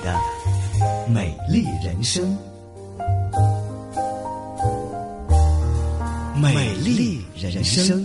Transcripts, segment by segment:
的美丽人生，美丽人生。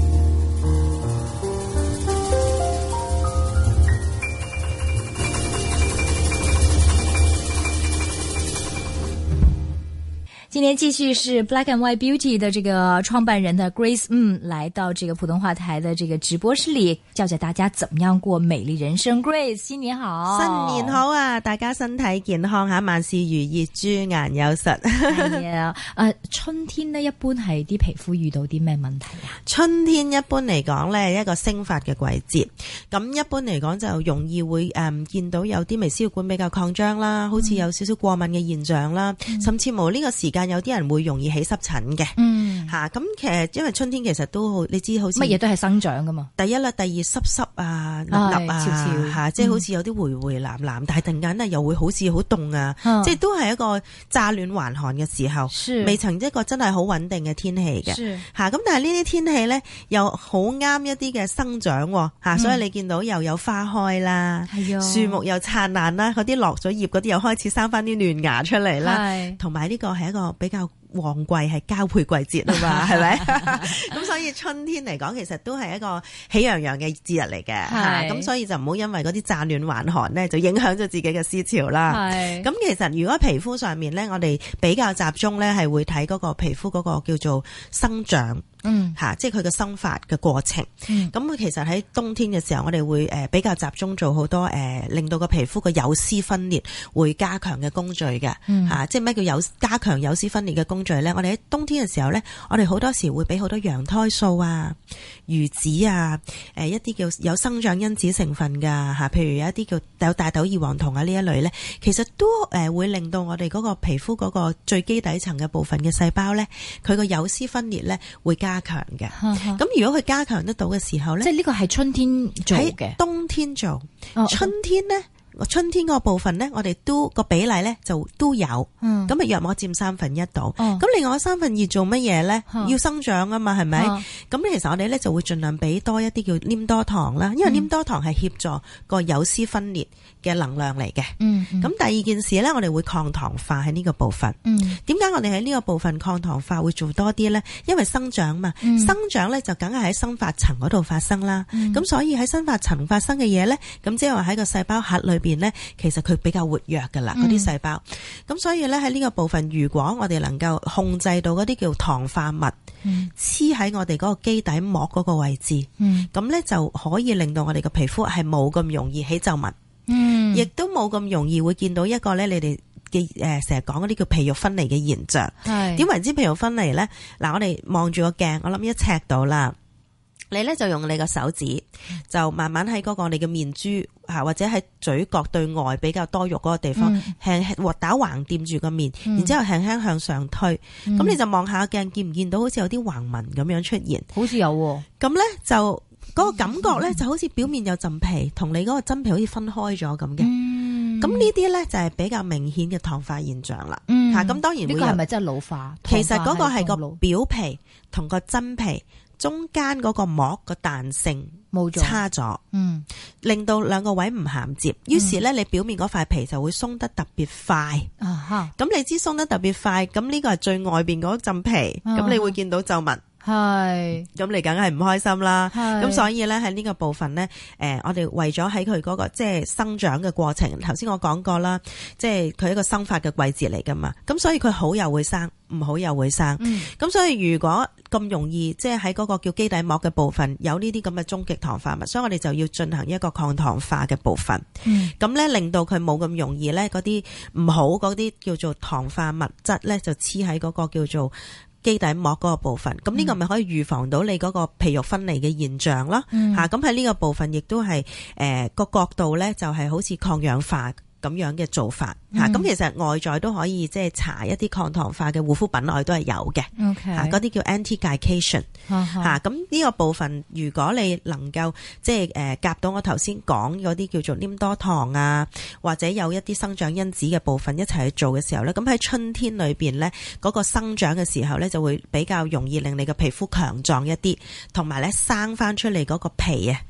今天继续是 Black and White Beauty 的这个创办人的 Grace 来到这个普通话台的这个直播室里，教教大家怎么样過美麗人生。Grace 新年好， 新年好啊！大家身體健康吓，萬事如意，豬顏有實。 係啊，春天呢一般係啲皮膚遇到啲咩問題啊？ 春天一般嚟講咧，一個生髮嘅季節，咁一般嚟講就容易會見到有啲微絲血管比較擴張啦，好似有少少過敏嘅現象啦，甚至乎呢個時間有啲人會容易起濕疹嘅。咁其實因為春天其實都好，你知好似乜嘢都係生長噶嘛。第一啦，第二濕啊、立立啊， 潮潮嚇，即係好似有啲回藍藍，但係突然間咧又會好似好凍啊，即係都係一個乍暖還寒嘅時候，未曾一個真係好穩定嘅天氣嘅嚇。咁但係呢啲天氣咧又好啱一啲嘅生長嚇，所以你見到又有花開啦，樹木又燦爛啦，嗰啲落咗葉嗰啲又開始生翻啲嫩芽出嚟啦，同埋呢個係一個比較旺季，係交配季節啊嘛，係咪？咁所以春天嚟講，其實都係一個喜洋洋嘅節日嚟嘅。咁所以就唔好因為嗰啲乍暖還寒咧，就影響咗自己嘅思潮啦。咁其實如果皮膚上面咧，我哋比較集中咧，係會睇嗰個皮膚嗰個叫做生長。即係佢嘅生髮嘅過程。咁其實喺冬天嘅時候，我哋會比較集中做好多令到個皮膚嘅有絲分裂會加強嘅工序嘅。即係咩叫加強有絲分裂嘅工序咧？我哋喺冬天嘅時候咧，我哋好多時會俾好多羊胎素啊、魚子啊、一啲叫有生長因子成分㗎嚇，譬如有一啲叫有大豆異黃酮啊呢一類咧，其實都會令到我哋嗰個皮膚嗰個最基底層嘅部分嘅細胞咧，佢個有絲分裂咧會加強嘅。咁如果佢加強得到嘅時候咧， 即係呢個係春天做嘅， 喺冬天做。春天咧，春天個部分咧，我哋都個比例咧就都有，咁約莫佔1/3度。咁另外2/3做乜嘢咧？要生長啊嘛，係咪？咁其實我哋咧就會盡量俾多一啲叫黏多糖啦，因為黏多糖係協助個有絲分裂嘅能量嚟嘅。咁第二件事咧，我哋會抗糖化喺呢個部分。點解我哋喺呢個部分抗糖化會做多啲咧？因為生長嘛，生長咧就梗係喺生髮層嗰度發生啦。咁所以喺生髮層發生嘅嘢咧，咁即係話喺個細胞核裏邊咧，其實佢比較活躍噶啦，嗰啲細胞。咁所以咧喺呢個部分，如果我哋能夠控制到嗰啲叫糖化物黐喺我哋嗰個基底膜嗰個位置，咁咧就可以令到我哋個皮膚係冇咁容易起皺紋。亦都冇咁容易會見到一個咧，你哋嘅成日講嗰啲叫皮肉分離嘅現象。點為之皮肉分離咧？嗱，我哋望住個鏡，我諗1尺到啦。你咧就用你個手指，就慢慢喺嗰個你嘅面珠或者喺嘴角對外比較多肉嗰個地方，打橫掂住個面，然之後輕輕向上推。咁你就望下鏡，見唔見到好似有啲橫紋咁樣出現？ 好似有喎。咁咧就嗰個感覺咧，就好似表面有陣皮，同你嗰個真皮好似分開咗咁嘅。咁呢啲咧就係比較明顯嘅糖化現象啦。咁當然會有。呢個係咪真係老化？其實嗰個係個表皮同個真皮中間嗰個膜個彈性冇差咗，令到兩個位唔銜接，於是咧你表面嗰塊皮就會鬆得特別快。咁你知鬆得特別快，咁呢個係最外邊嗰陣皮，咁你會見到皺紋。咁你梗係唔開心啦。咁所以咧喺呢個部分咧，我哋為咗喺佢嗰個即係生長嘅過程，頭先我講過啦，即係佢一個生髮嘅季節嚟噶嘛。咁所以佢好又會生，唔好又會生。咁所以如果咁容易即係喺嗰個叫基底膜嘅部分有呢啲咁嘅終極糖化物，所以我哋就要進行一個抗糖化嘅部分。咁咧令到佢冇咁容易咧嗰啲唔好嗰啲叫做糖化物質咧就黐喺嗰個叫做基底膜嗰個部分，咁呢個咪可以預防到你嗰個皮肉分離嘅現象咯。咁喺呢個部分亦都係個角度咧，就係好似抗氧化咁樣嘅做法。咁其實外在都可以即係搽一啲抗糖化嘅護膚品，我哋都係有嘅。嗰啲叫 anti-glycation。咁呢個部分，如果你能夠即係夾到我頭先講嗰啲叫做黏多糖啊，或者有一啲生長因子嘅部分一齊去做嘅時候咧，咁喺春天裏邊咧，嗰個生長嘅時候咧，就會比較容易令你嘅皮膚強壯一啲，同埋咧生翻出嚟嗰個皮啊，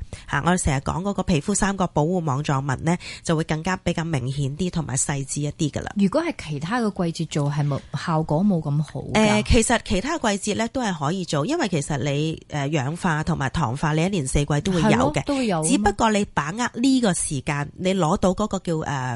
我哋成日講嗰個皮膚三角保護網狀紋咧，就會更加比較明顯啲同埋細緻一啲噶啦。 如果係其他嘅季節做，係冇效果冇咁好？ 其實其他季節咧都係可以做，因為其實你氧化同埋糖化，你一年四季都會有嘅， 都會有。只不過你把握呢個時間，你攞到嗰個叫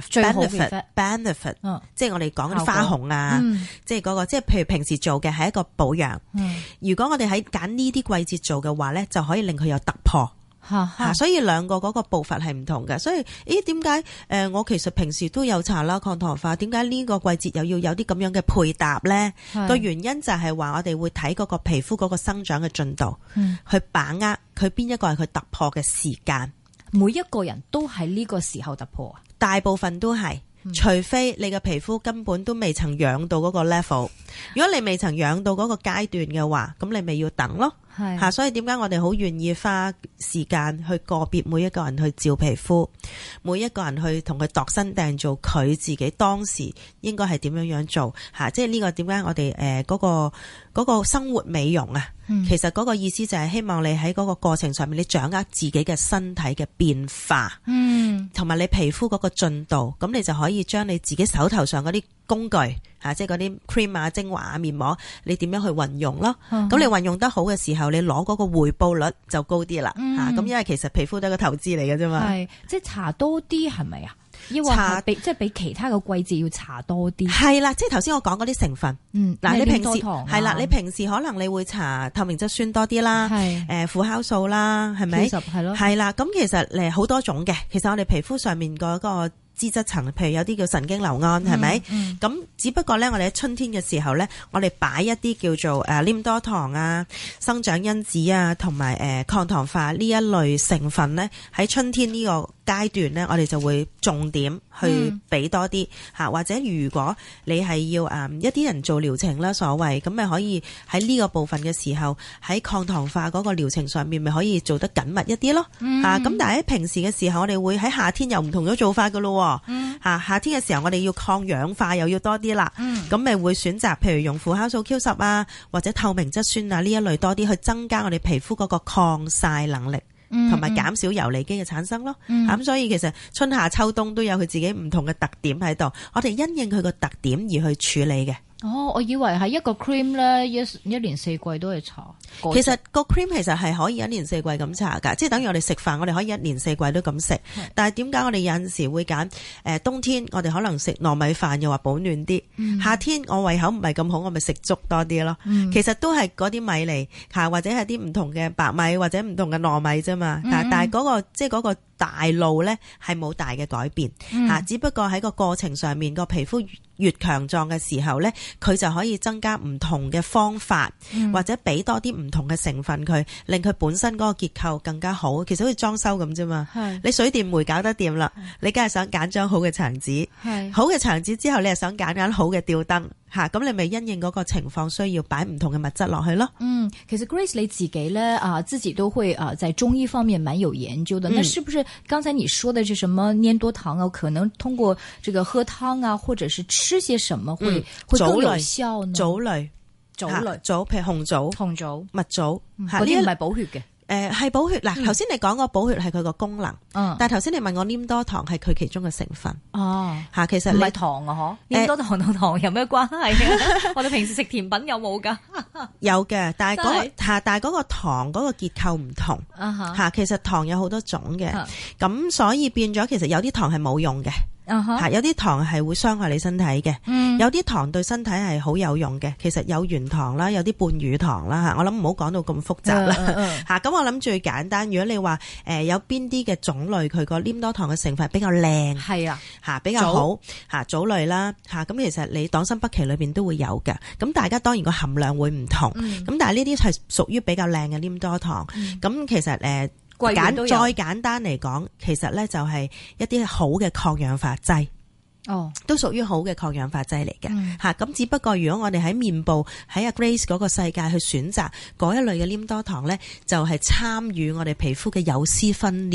benefit，即係我哋講嘅花紅啊，即係嗰個即係譬如平時做嘅係一個保養。如果我哋喺揀呢啲季節做嘅話咧，就可以令佢有突破。所以兩個嗰個步伐係唔同嘅。所以點解我其實平時都有搽啦抗糖化，點解呢個季節又要有啲咁樣嘅配搭咧？個原因就係話我哋會睇嗰個皮膚嗰個生長嘅進度，去把握佢邊一個係佢突破嘅時間。 每一個人都喺呢個時候突破啊？ 大部分都係。除非你嘅皮膚根本都未曾養到嗰個 level， 如果你未曾養到嗰個階段嘅話，咁你咪要等咯。所以點解我哋好願意花時間去個別每一個人去照皮膚，每一個人去同佢度身訂做佢自己當時應該係點樣做。即係呢個點解我哋嗰個生活美容啊，其實嗰個意思就係希望你喺嗰個過程上面，你掌握自己嘅身體嘅變化，同埋你皮膚嗰個進度，咁你就可以將你自己手頭上嗰啲工具即係嗰啲 cream 啊、精華啊、面膜，你點樣去運用咯？咁你運用得好嘅時候，你攞嗰個回報率就高啲啦。咁因為其實皮膚都係個投資嚟嘅啫嘛。係， 即係搽多啲係咪啊？抑或即係比其他嘅季節要搽多啲？係啦，即係頭先我講嗰啲成分。嗱，你平時係啦，你平時可能你會搽透明質酸多啲啦，輔酵素啦，係咪？係咯。係啦，咁其實好多種嘅。其實我哋皮膚上面嗰個脂質層，譬如有啲叫神經酰胺，係咪？咁只不過咧，我哋喺春天嘅時候咧，我哋擺一啲叫做黏多糖啊、生長因子啊，同埋抗糖化呢一類成分咧，喺春天呢個階段咧，我哋就會重點去俾多啲或者如果你係要一啲人做療程啦，所謂咁咪可以喺呢個部分嘅時候，喺抗糖化嗰個療程上面咪可以做得緊密一啲咯。咁但係喺平時嘅時候，我哋會喺夏天又唔同咗做法噶咯。夏天嘅時候我哋要抗氧化又要多啲啦，咁咪會選擇譬如用輔酵素 Q10 啊，或者透明質酸啊呢一類多啲，去增加我哋皮膚嗰個抗曬能力，同埋減少游離基嘅產生咯。咁所以其實春夏秋冬都有佢自己唔同嘅特點喺度，我哋因應佢個特點而去處理嘅。 我以為係一個 cream 咧，一年四季都係搽。 其實個 cream 其實係可以一年四季咁搽噶，即係等於我哋食飯，我哋可以一年四季都咁食。但係點解我哋有陣時會揀冬天我哋可能食糯米飯又話保暖啲，夏天我胃口唔係咁好，我咪食粥多啲咯。其實都係嗰啲米嚟或者係啲唔同嘅白米或者唔同嘅糯米啫嘛。但係嗰個即係嗰個大路咧係冇大嘅改變只不過喺個過程上面個皮膚越強壯嘅時候咧，佢就可以增加唔同嘅方法，或者俾多啲唔同嘅成分佢，令佢本身嗰個結構更加好。其實好似裝修咁啫嘛，你水電煤搞得掂啦，你梗係想揀張好嘅牆紙，好嘅牆紙之後你係想揀好嘅吊燈咁你咪因應嗰個情況需要擺唔同嘅物質落去咯。 其實 Grace 你自己咧自己都會在中醫方面蠻有研究的。那是不是剛才你說的是什麼粘多糖啊？可能通過這個喝湯啊，或者是吃些什麼會更有效呢？ 棗類，譬如紅棗、蜜棗， 嗰啲唔係補血嘅。 係補血嗱，頭先你講個補血係佢個功能，但係頭先你問我黏多糖係佢其中嘅成分。其實唔係糖啊， 黏多糖同糖有咩關係啊？我哋平時食甜品有冇噶？ 有嘅，但係嗰個糖嗰個結構唔同。其實糖有好多種嘅，咁所以變咗其實有啲糖係冇用嘅。有啲糖係會傷害你身體嘅，有啲糖對身體係好有用嘅。其實有原糖啦，有啲半乳糖啦，我諗唔好講到咁複雜啦。咁我諗最簡單，如果你話有邊啲嘅種類佢個黏多糖嘅成分比較靚，比較好棗類啦，咁其實你黨參北芪裏邊都會有嘅。咁大家當然個含量會唔同，咁但係呢啲係屬於比較靚嘅黏多糖。咁其實再簡單嚟講，其實咧就係一啲好嘅抗氧化劑，都屬於好嘅抗氧化劑嚟嘅。咁只不過如果我哋喺面部喺阿 Grace 嗰個世界去選擇嗰一類嘅黏多糖咧，就係參與我哋皮膚嘅有絲分裂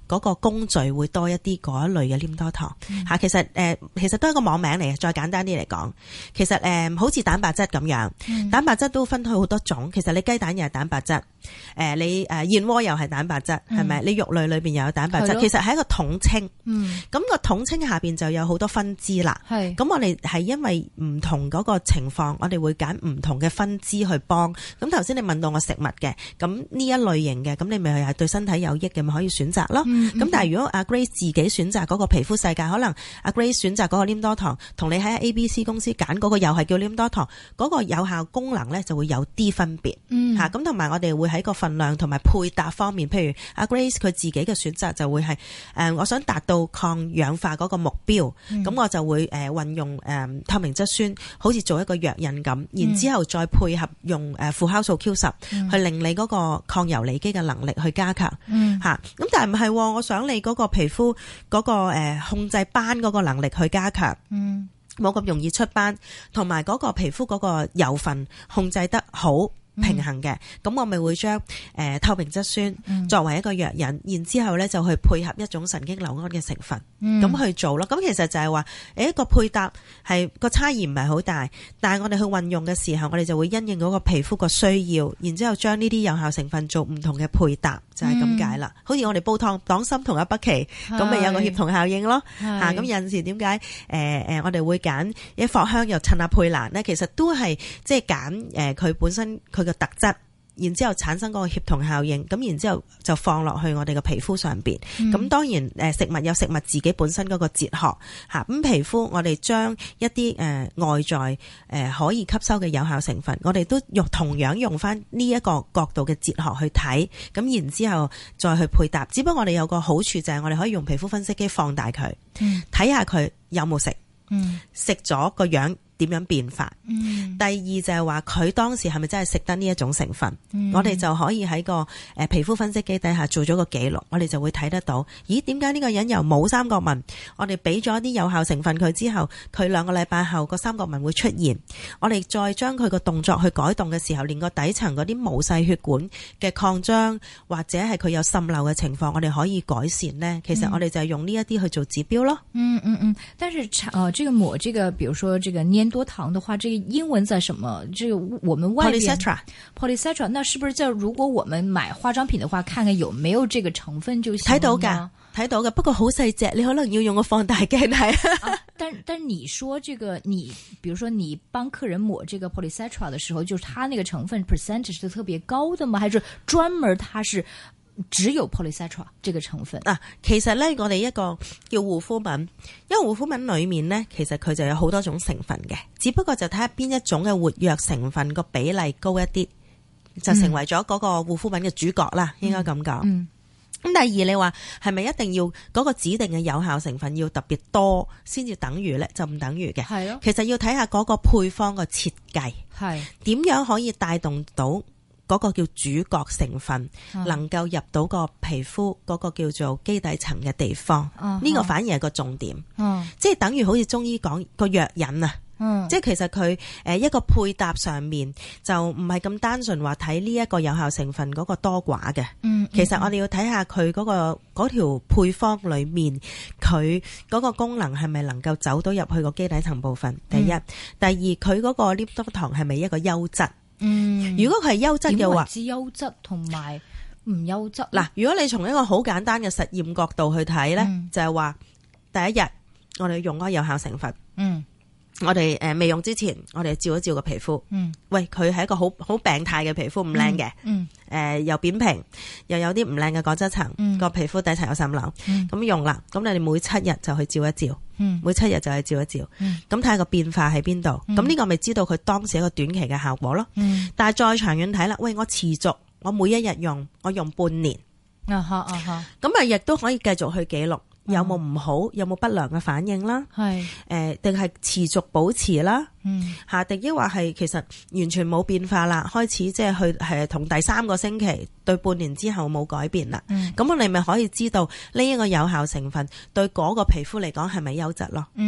嗰個工序會多一啲嗰一類嘅黏多糖吓。其實都係一個網名嚟嘅。再簡單啲嚟講，其實好似蛋白質咁樣，蛋白質都分開好多種。其實你雞蛋又係蛋白質，你燕窩又係蛋白質，係咪？你肉類裏邊又有蛋白質，其實係一個統稱。咁個統稱下邊就有好多分支啦。咁我哋係因為唔同嗰個情況，我哋會揀唔同嘅分支去幫。咁頭先你問到我食物嘅，咁呢一類型嘅，咁你咪係對身體有益嘅，咪可以選擇咯。咁但係如果阿 Grace 自己選擇嗰個皮膚世界，可能阿 Grace 選擇嗰個黏多糖，同你喺 ABC 公司揀嗰個又係叫黏多糖，嗰個有效功能咧就會有啲分別。咁同埋我哋會喺個份量同埋配搭方面，譬如阿 Grace 佢自己嘅選擇就會係我想達到抗氧化嗰個目標，咁我就會運用透明質酸，好似做一個藥引咁，然之後再配合用輔酵素 Q10 去令你嗰個抗游離基嘅能力去加強。咁但係唔係，我想你嗰個皮膚嗰個控制斑嗰個能力去加強，冇咁容易出斑，同埋嗰個皮膚嗰個油分控制得好平衡嘅，咁我咪會將透明質酸作為一個藥引，然之後咧就去配合一種神經酰胺嘅成分，咁去做咯。咁其實就係話，個配搭係個差異唔係好大，但係我哋去運用嘅時候，我哋就會因應嗰個皮膚個需要，然之後將呢啲有效成分做唔同嘅配搭，就係咁解啦。好似我哋煲湯黨參同阿北芪，咁咪有個協同效應咯。咁有陣時點解我哋會揀一藿香又襯下佩蘭呢？其實都係即係揀佢本身佢嘅特質，然之後產生嗰個協同效應，咁然之後就放落去我哋嘅皮膚上邊。咁當然食物有食物自己本身嗰個哲學吓，咁皮膚我哋將一啲外在可以吸收嘅有效成分，我哋都同樣用翻呢一個角度嘅哲學去睇，咁然之後再去配搭。只不過我哋有個好處就係我哋可以用皮膚分析機放大佢，睇下佢有冇食，食咗個樣點樣變化。第二就係話佢當時係咪真係食得呢一種成分，我哋就可以喺個皮膚分析機底下做咗個記錄，我哋就會睇得到，咦，點解呢個人由冇三角紋，我哋俾咗啲有效成分佢之後，佢2個禮拜後個三角紋會出現，我哋再將佢個動作去改動嘅時候，連個底層嗰啲毛細血管嘅擴張或者係佢有滲漏嘅情況，我哋可以改善呢。其實我哋就係用呢一啲去做指標咯。 但是這個抹這個，比如說這個粘多糖的話，這個英文在什麼？這個我們外邊 polycetera， 那是不是在如果我們買化妝品的話，看看有沒有這個成分就行？ 睇到嘅，不過好細隻，你可能要用個放大鏡睇。 但你說這個，你比如說你幫客人抹這個 polycetera 的時候，就是它那個成分 percentage 是特別高的嗎？還是專門它是只有 polycetera 這個成分？ 其實咧，我哋一個叫護膚品，因為護膚品裏面咧，其實佢就有好多種成分嘅，只不過就睇下邊一種嘅活躍成分個比例高一啲，就成為咗嗰個護膚品嘅主角啦，應該咁講。咁第二，你話係咪一定要嗰個指定嘅有效成分要特別多先至等於咧？就唔等於嘅。係咯，其實要睇下嗰個配方嘅設計，係點樣可以帶動到嗰個叫主角成分，能夠入到個皮膚嗰個叫做基底層嘅地方，呢個反而係個重點。即係等於好似中醫講個藥引啊。即係其實佢一個配搭上面就唔係咁單純話睇呢一個有效成分嗰個多寡嘅。其實我哋要睇下佢嗰條配方裏面佢嗰個功能係咪能夠走到入去個基底層部分。第一，第二，佢嗰個黏多糖係咪一個優質？如果佢係優質嘅話， 點為之優質同埋唔優質？ 嗱，如果你從一個好簡單嘅實驗角度去睇咧，就係話第一日我哋用嗰個有效成分。我哋未用之前，我哋照一照個皮膚。喂，佢係一個好病態嘅皮膚，唔靚嘅。又扁平，又有啲唔靚嘅角質層，個皮膚底層有滲漏。咁用啦，咁你哋每7日就去照一照。每7日就去照一照。咁睇下個變化喺邊度。咁呢個咪知道佢當時一個短期嘅效果咯。但係再長遠睇啦，喂，我持續，我每一日用，我用半年。咁亦都可以繼續去記錄。有冇唔好，有冇不良嘅反應啦？係定係持續保持啦？定抑或係其實完全冇變化啦？開始即係去係同第3個星期對半年之後冇改變啦。咁我哋咪可以知道呢一個有效成分對嗰個皮膚嚟講係咪優質咯？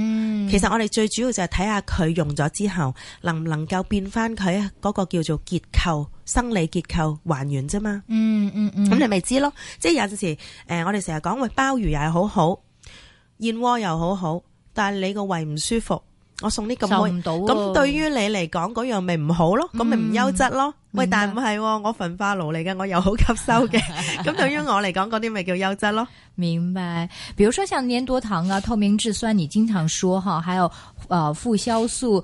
其實我哋最主要就係睇下佢用咗之後能唔能夠變翻佢嗰個叫做結構生理結構還原啫嘛。咁你咪知咯。即係有陣時我哋成日講喂，鮑魚又係好好，燕窩又好好，但係你個胃唔舒服，我送啲咁好，咁對於你嚟講嗰樣咪唔好咯，咁咪唔優質咯。喂，但係唔係，我焚化爐嚟嘅，我又好吸收嘅，咁對於我嚟講嗰啲咪叫優質咯。 明白。比如說像粘多糖啊、透明質酸，你經常說哈，還有負酵素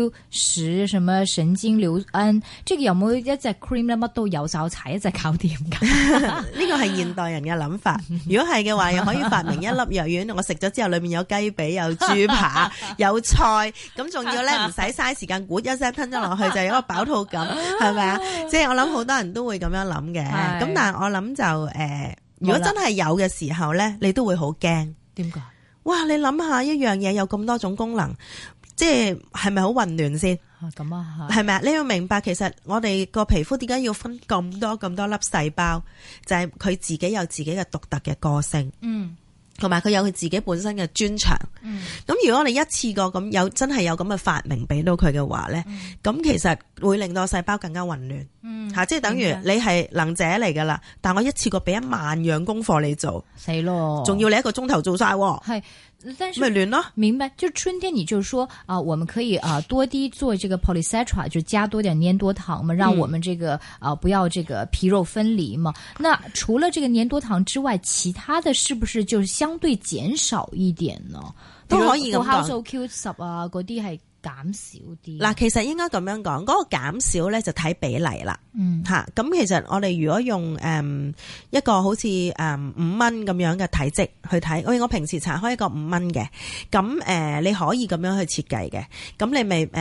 Q10，什麼神經硫胺，這個有冇一隻 cream 咧乜都有就踩一隻搞掂噶？ 呢個係現代人嘅諗法。如果係嘅話，又可以發明一粒藥丸，我食咗之後裏面有雞髀、有豬扒、有菜，咁仲要咧唔使嘥時間，咕一聲吞咗落去就有一個飽肚感，係咪啊？即係我諗好多人都會咁樣諗嘅。咁但係我諗就如果真係有嘅時候咧，你都會好驚。點解？哇！你諗下一樣嘢有咁多種功能，即係咪好混亂先？咁啊，係咪啊？你要明白，其實我哋個皮膚點解要分咁多粒細胞，就係佢自己有自己嘅獨特嘅個性。同埋佢有佢自己本身嘅專長。咁如果我哋一次過咁真係有咁嘅發明俾到佢嘅話咧，咁其實會令到細胞更加混亂。即係等於你係能者嚟噶啦，但我一次過俾1萬樣功課你做，死咯，仲要你1個鐘頭做晒。係。但是咪亂咯， 明白？就春天，你就說我們可以多啲做這個 polysaccharide，就加多點粘多糖嘛，讓我們這個不要這個皮肉分離嘛。那除了這個粘多糖之外，其他的是不是就相對減少一點呢？ 都可以咁講。 負酵素 Q10啊，嗰啲係減少啲。 嗱，其實應該咁樣講，嗰個減少咧就睇比例啦。咁其實我哋如果用一個好似5蚊咁樣嘅體積去睇，我平時搽開一個5蚊嘅，咁你可以咁樣去設計嘅。咁你咪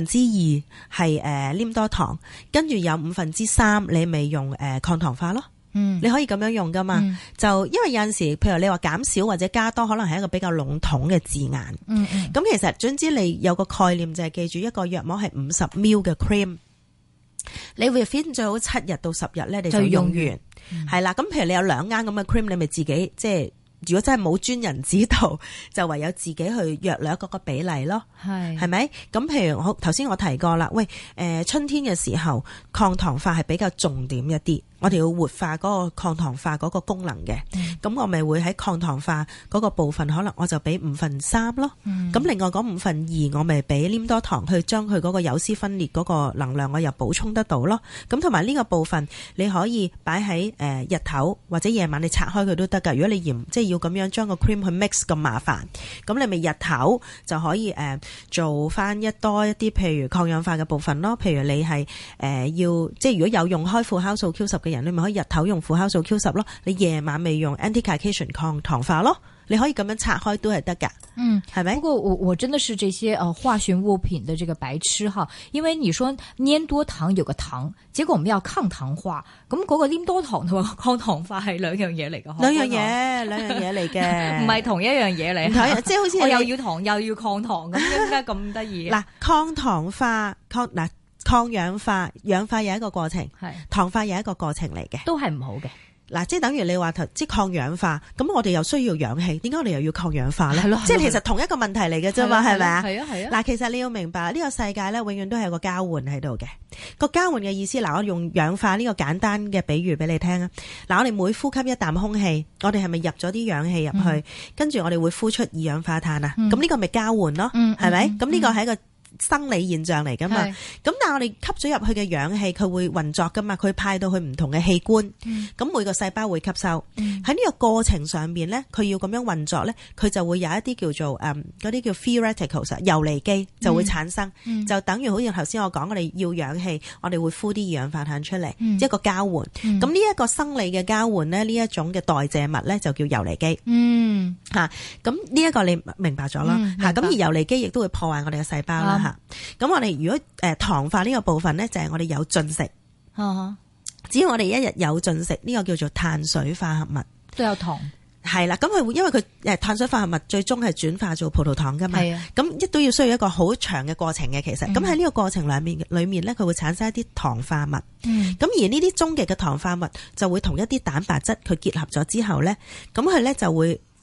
2/5係黏多糖，跟住有3/5你咪用抗糖化咯。你可以咁樣用噶嘛。就因為有陣時譬如你話減少或者加多，可能係一個比較籠統嘅字眼。咁其實總之你有個概念就係記住一個藥膜係50 ml 嘅 cream， 你會 fit 最好7日到10日咧，你就用完係啦。咁譬如你有2盎咁嘅 cream， 你咪自己即係如果真係冇專人指導，就唯有自己去約略嗰個比例咯。係咪？咁譬如頭先我提過啦，喂，春天嘅時候抗糖化係比較重點一啲。我哋要活化嗰個抗糖化嗰個功能嘅，咁我咪會喺抗糖化嗰個部分，可能我就俾3/5咯。咁另外嗰2/5我咪俾黏多糖去將佢嗰個有絲分裂嗰個能量我又補充得到咯。咁同埋呢個部分你可以擺喺日頭或者夜晚你拆開佢都得㗎。如果你即係要咁樣將個 cream 去 mix 咁麻煩，咁你咪日頭就可以做翻多一啲譬如抗氧化嘅部分咯。譬如你係要即係如果有用開負酵素 Q10嘅人，你咪可以日頭用負酵素 Q10咯，你夜晚咪用 anti-glycation 抗糖化咯，你可以咁樣拆開都係得噶。係咪？不過我真的是這些化學物品的這個白痴哈，因為你說粘多糖有個糖，結果我們要抗糖化，咁嗰個黏多糖同埋抗糖化係兩樣嘢嚟噶， 兩樣嘢嚟嘅， 唔係同一樣嘢嚟。 即係好似我又要糖又要抗糖，咁點解咁得意？ 嗱，抗糖化抗氧化，氧化有一個過程，糖化有一個過程嚟嘅， 都係唔好嘅。 嗱，即係等於你話即係抗氧化，咁我哋又需要氧氣，點解我哋又要抗氧化咧？即係其實同一個問題嚟嘅啫嘛，係咪啊？係啊。嗱，其實你要明白呢個世界咧，永遠都係有個交換喺度嘅。個交換嘅意思，嗱，我用氧化呢個簡單嘅比喻俾你聽啊。嗱，我哋每呼吸一啖空氣，我哋係咪入咗啲氧氣入去？跟住我哋會呼出二氧化碳啊。咁呢個咪交換咯，係咪？咁呢個係一個生理現象嚟噶嘛，咁但係我哋吸咗入去嘅氧氣，佢會運作噶嘛，佢派到去唔同嘅器官，咁每個細胞會吸收。喺呢個過程上邊咧，佢要咁樣運作咧，佢就會有一啲叫做嗰啲叫 free radicals 游離基就會產生，就等於好似頭先我講，我哋要氧氣，我哋會呼啲二氧化碳出嚟，一個交換。咁呢一個生理嘅交換咧，呢一種嘅代謝物咧就叫游離基。咁呢一個你明白咗啦，咁而游離基亦都會破壞我哋嘅細胞啦。咁我哋如果糖化呢個部分咧，就係我哋有進食，只要我哋一日有進食，呢個叫做碳水化合物都有糖， 係啦。咁佢會因為佢碳水化合物最終係轉化做葡萄糖噶嘛，咁亦都要需要一個好長嘅過程嘅。其實咁喺呢個過程裏面咧，佢會產生一啲糖化物，咁而呢啲終極嘅糖化物就會同一啲蛋白質佢結合咗之後咧，咁佢咧就會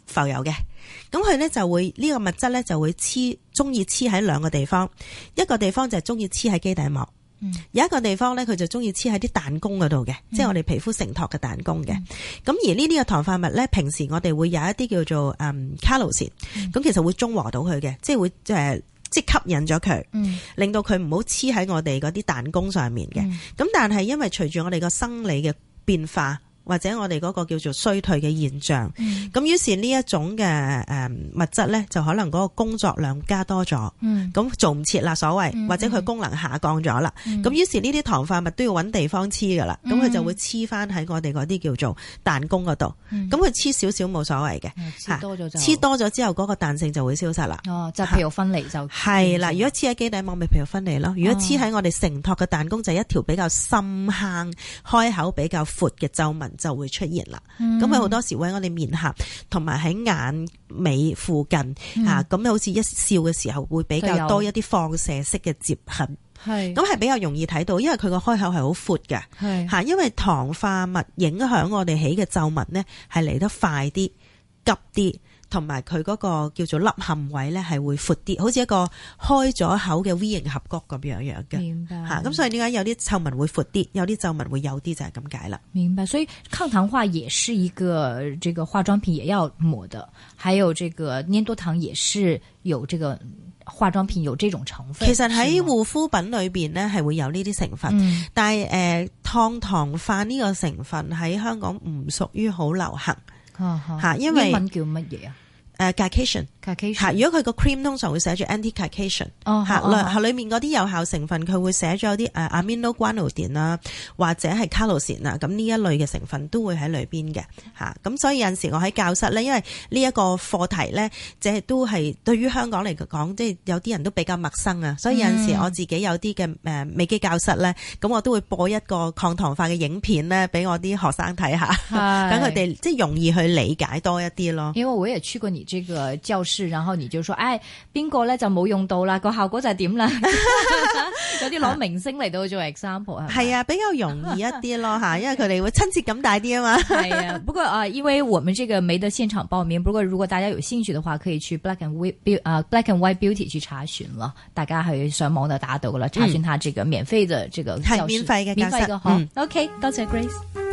浮游嘅，咁佢咧就會呢個物質咧就會中意黐喺兩個地方，一個地方就係中意黐喺基底膜。有一個地方咧，佢就中意黐喺啲彈弓嗰度嘅，即係我哋皮膚承托嘅彈弓嘅。咁而呢啲嘅糖化物咧，平時我哋會有一啲叫做卡路士，咁其實會中和到佢嘅，即係會即係吸引咗佢，令到佢唔好黐喺我哋嗰啲彈弓上面嘅。咁但係因為隨住我哋個生理嘅變化，或者我哋嗰個叫做衰退嘅現象，咁於是呢一種嘅物質咧，就可能嗰個工作量加多咗，咁做唔切啦所謂，或者佢功能下降咗啦，咁於是呢啲糖化物都要揾地方黐噶啦，咁佢就會黐翻喺我哋嗰啲叫做彈弓嗰度，咁佢黐少少冇所謂嘅，黐多咗之後嗰個彈性就會消失啦。 哦，就皮肉分離就係啦。如果黐喺基底膜咪皮肉分離咯，如果黐喺我哋承托嘅彈弓就係一條比較深坑、開口比較闊嘅皺紋就會出現啦，咁佢好多時會喺我哋面頰同埋喺眼尾附近咁好似一笑嘅時候會比較多一啲放射式嘅摺痕，咁係比較容易睇到，因為佢個開口係好闊嘅，因為糖化物影響我哋起嘅皺紋呢係嚟得快啲、急啲。同埋佢嗰個叫做凹陷位咧，係會闊啲，好似一個開咗口嘅 V 型峽谷咁樣嘅。 明白。 咁所以點解有啲皺紋會闊啲，有啲皺紋會有啲就係咁解啦。 明白。所以抗糖化也是一個這個化妝品也要抹的，還有這個粘多糖也是有這個化妝品有這種成分。 其實喺護膚品裏邊呢係會有呢啲成分，但係抗糖化呢個成分喺香港唔屬於好流行。因為英文叫乜嘢啊 ？Glycation。如果佢個 cream 通常會寫住 anti-glycation，裏面嗰啲有效成分佢會寫咗有啲aminoguanidine啊，或者係卡路士啊，咁呢一類嘅成分都會喺裏邊嘅咁所以有陣時我喺教室咧，因為呢一個課題咧，即係都係對於香港嚟講，即係有啲人都比較陌生啊，所以有陣時我自己有啲嘅美肌教室咧，咁我都會播一個抗糖化嘅影片咧，俾我啲學生睇下，等佢哋即係容易去理解多一啲咯。 因為我也去過你這個教室。然後你就說，邊個咧就冇用到啦，個效果就係點啦？有啲攞明星嚟到做 example 係啊， 比較容易一啲咯吓，因為佢哋會親切感大啲啊嘛。 係啊，不過因為我們這個沒得現場報名，不過如果大家有興趣的話，可以去 Black and White Beauty 去查詢咯。大家去上網就打到噶啦，查詢他這個免費的這個教室， 係免費嘅教室。 OK，多謝 Grace。